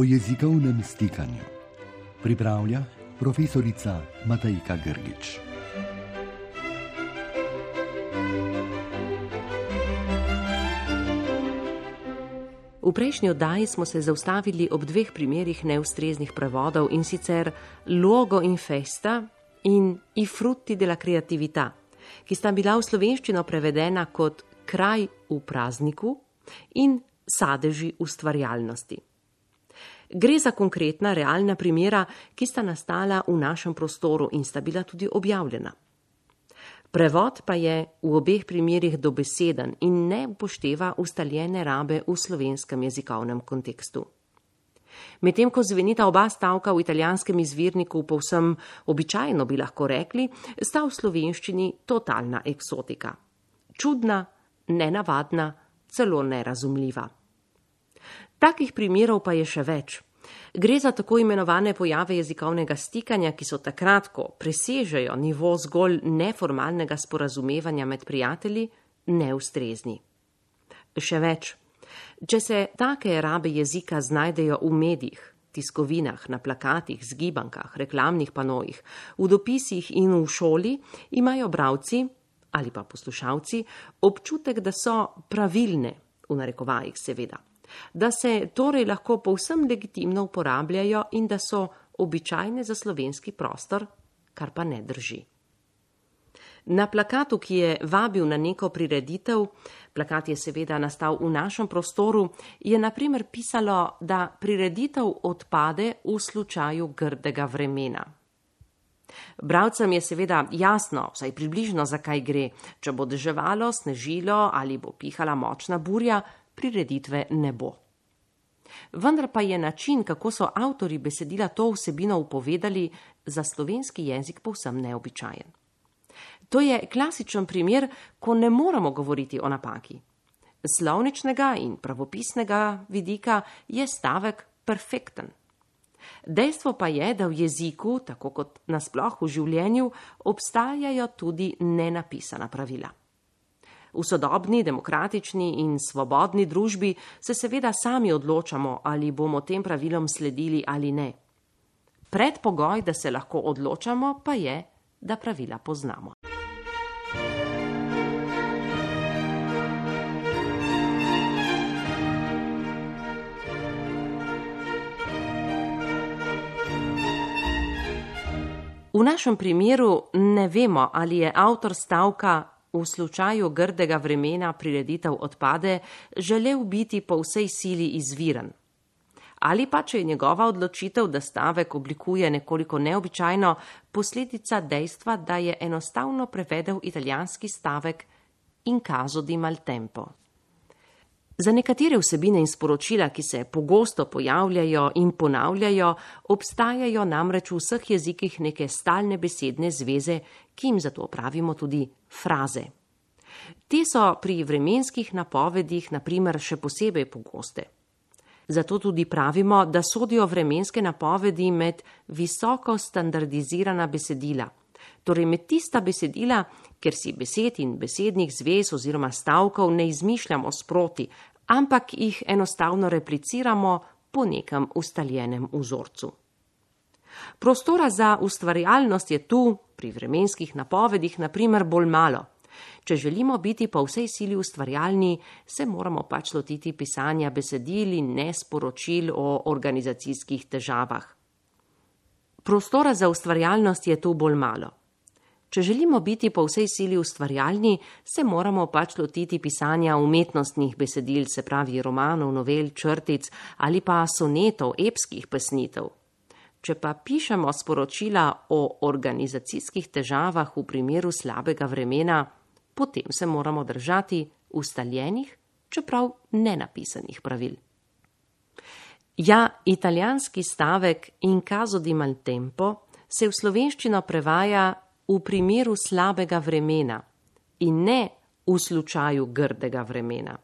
o jezikovnem stikanju. Pripravlja profesorica Matejka Grgič. V prejšnji oddaji smo se zaustavili ob dveh primerih neustreznih prevodov, in sicer Luogo in festa in I frutti della creatività, ki sta bila v slovenščino prevedena kot kraj v prazniku in sadeži ustvarjalnosti. Gre za konkretna, realna primera, ki sta nastala v našem prostoru in sta bila tudi objavljena. Prevod pa je v obeh primerih dobeseden in ne upošteva ustaljene rabe v slovenskem jezikovnem kontekstu. Medtem ko zvenita oba stavka v italijanskem izvirniku povsem običajno, bi lahko rekli, sta v slovenščini totalna eksotika. Čudna, nenavadna, celo nerazumljiva. Takih primerov pa je še več. Gre za tako imenovane pojave jezikovnega stikanja, ki so takrat, ko presežejo nivo zgolj neformalnega sporazumevanja med prijatelji, neustrezni. Še več. Če se take rabe jezika znajdejo v medijih, tiskovinah, na plakatih, zgibankah, reklamnih panojih, v dopisih in v šoli, imajo bralci ali pa poslušalci občutek, da so pravilne, v narekovajih seveda, da se torej lahko povsem legitimno uporabljajo in da so običajne za slovenski prostor, kar pa ne drži. Na plakatu, ki je vabil na neko prireditev, plakat je seveda nastal v našem prostoru, je na primer pisalo, da prireditev odpade v slučaju grdega vremena. Bralcem je seveda jasno, vsaj približno, zakaj gre. Če bo deževalo, snežilo ali bo pihala močna burja, prireditve ne bo. Vendar pa je način, kako so avtorji besedila to vsebino upovedali, za slovenski jezik povsem neobičajen. To je klasičen primer, ko ne moremo govoriti o napaki. Z slovničnega in pravopisnega vidika je stavek perfekten. Dejstvo pa je, da v jeziku, tako kot nasploh v življenju, obstajajo tudi nenapisana pravila. V sodobni, demokratični in svobodni družbi se seveda sami odločamo, ali bomo tem pravilom sledili ali ne. Predpogoj, da se lahko odločamo, pa je, da pravila poznamo. V našem primeru ne vemo, ali je avtor stavka v slučaju grdega vremena prireditev odpade želel biti po vsej sili izviren. Ali pa, če je njegova odločitev, da stavek oblikuje nekoliko neobičajno, posledica dejstva, da je enostavno prevedel italijanski stavek in caso di maltempo. Za nekatere vsebine in sporočila, ki se pogosto pojavljajo in ponavljajo, obstajajo namreč v vseh jezikih neke stalne besedne zveze, ki jim zato pravimo tudi fraze. Te so pri vremenskih napovedih na primer še posebej pogoste. Zato tudi pravimo, da sodijo vremenske napovedi med visoko standardizirana besedila. Torej med tista besedila, ker si besed in besednih zvez oziroma stavkov ne izmišljamo sproti, ampak jih enostavno repliciramo po nekem ustaljenem vzorcu. Prostora za ustvarjalnost je tu, pri vremenskih napovedih, na primer bolj malo. Če želimo biti po vsej sili ustvarjalni, se moramo pač lotiti pisanja besedil in ne sporočil o organizacijskih težavah. Prostora za ustvarjalnost je tu bolj malo. Če želimo biti po vsej sili ustvarjalni, se moramo pač lotiti pisanja umetnostnih besedil, se pravi romanov, novel, črtic ali pa sonetov, epskih pesnitev. Če pa pišemo sporočila o organizacijskih težavah v primeru slabega vremena, potem se moramo držati ustaljenih, čeprav nenapisanih pravil. Ja, italijanski stavek in caso di maltempo se v slovenščino prevaja v primeru slabega vremena in ne v slučaju grdega vremena.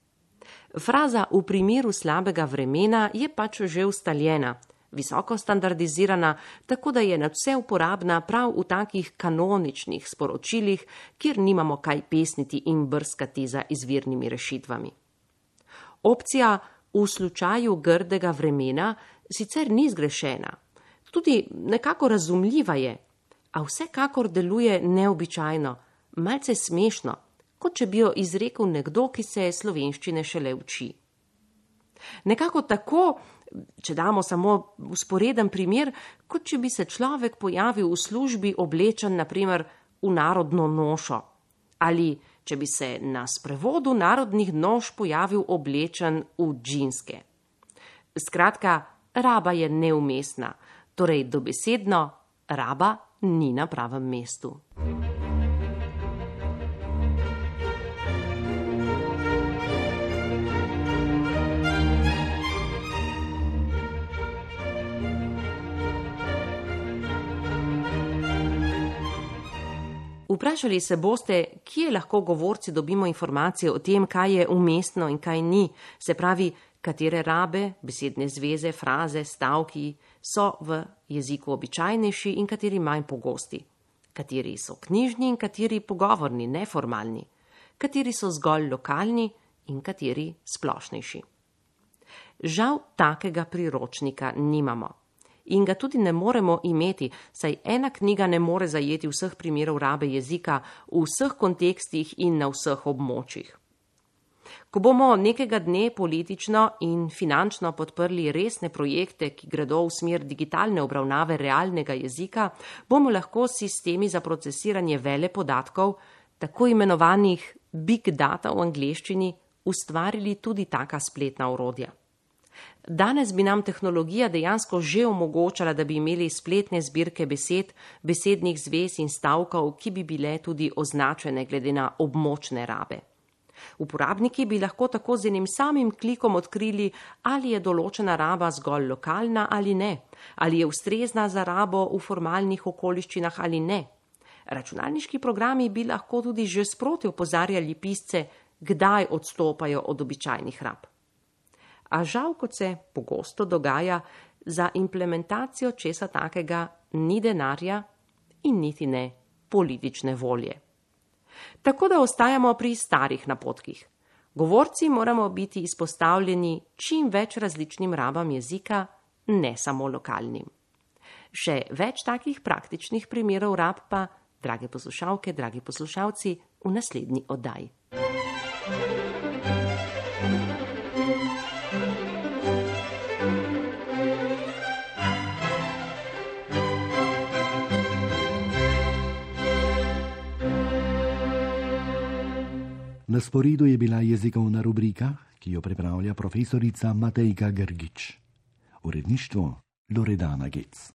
Fraza v primeru slabega vremena je pač že ustaljena, visoko standardizirana, tako da je nadvse uporabna prav v takih kanoničnih sporočilih, kjer nimamo kaj pesniti in brskati za izvirnimi rešitvami. Opcija v slučaju grdega vremena sicer ni zgrešena. Tudi nekako razumljiva je, a vsekakor deluje neobičajno, malce smešno, kot če bi jo izrekel nekdo, ki se slovenščine šele uči. Nekako tako, če damo samo vzporeden primer, kot če bi se človek pojavil v službi oblečen, naprimer, v narodno nošo, ali če bi se na sprevodu narodnih noš pojavil oblečen v džinske. Skratka, raba je neumestna, torej dobesedno, raba ni na pravem mestu. Vprašali se boste, kje lahko govorci dobimo informacije o tem, kaj je umestno in kaj ni, se pravi, katere rabe, besedne zveze, fraze, stavki so v jeziku običajnejši in kateri manj pogosti, kateri so knjižni in kateri pogovorni, neformalni, kateri so zgolj lokalni in kateri splošnejši. Žal takega priročnika nimamo. In ga tudi ne moremo imeti, saj ena knjiga ne more zajeti vseh primerov rabe jezika v vseh kontekstih in na vseh območjih. Ko bomo nekega dne politično in finančno podprli resne projekte, ki gredo v smer digitalne obravnave realnega jezika, bomo lahko s sistemi za procesiranje velepodatkov, tako imenovanih big data v angleščini, ustvarili tudi taka spletna orodja. Danes bi nam tehnologija dejansko že omogočala, da bi imeli spletne zbirke besed, besednih zvez in stavkov, ki bi bile tudi označene glede na območne rabe. Uporabniki bi lahko tako z enim samim klikom odkrili, ali je določena raba zgolj lokalna ali ne, ali je ustrezna za rabo v formalnih okoliščinah ali ne. Računalniški programi bi lahko tudi že sproti opozarjali pisce, kdaj odstopajo od običajnih rab. A žal, kot se pogosto dogaja, za implementacijo česa takega ni denarja in niti ne politične volje. Tako da ostajamo pri starih napotkih. Govorci moramo biti izpostavljeni čim več različnim rabam jezika, ne samo lokalnim. Še več takih praktičnih primerov rab pa, drage poslušalke, dragi poslušalci, v naslednji oddaji. Na sporedu je bila jezikovna rubrika, ki jo pripravlja profesorica Matejka Grgič. Uredništvo Loredana Gec.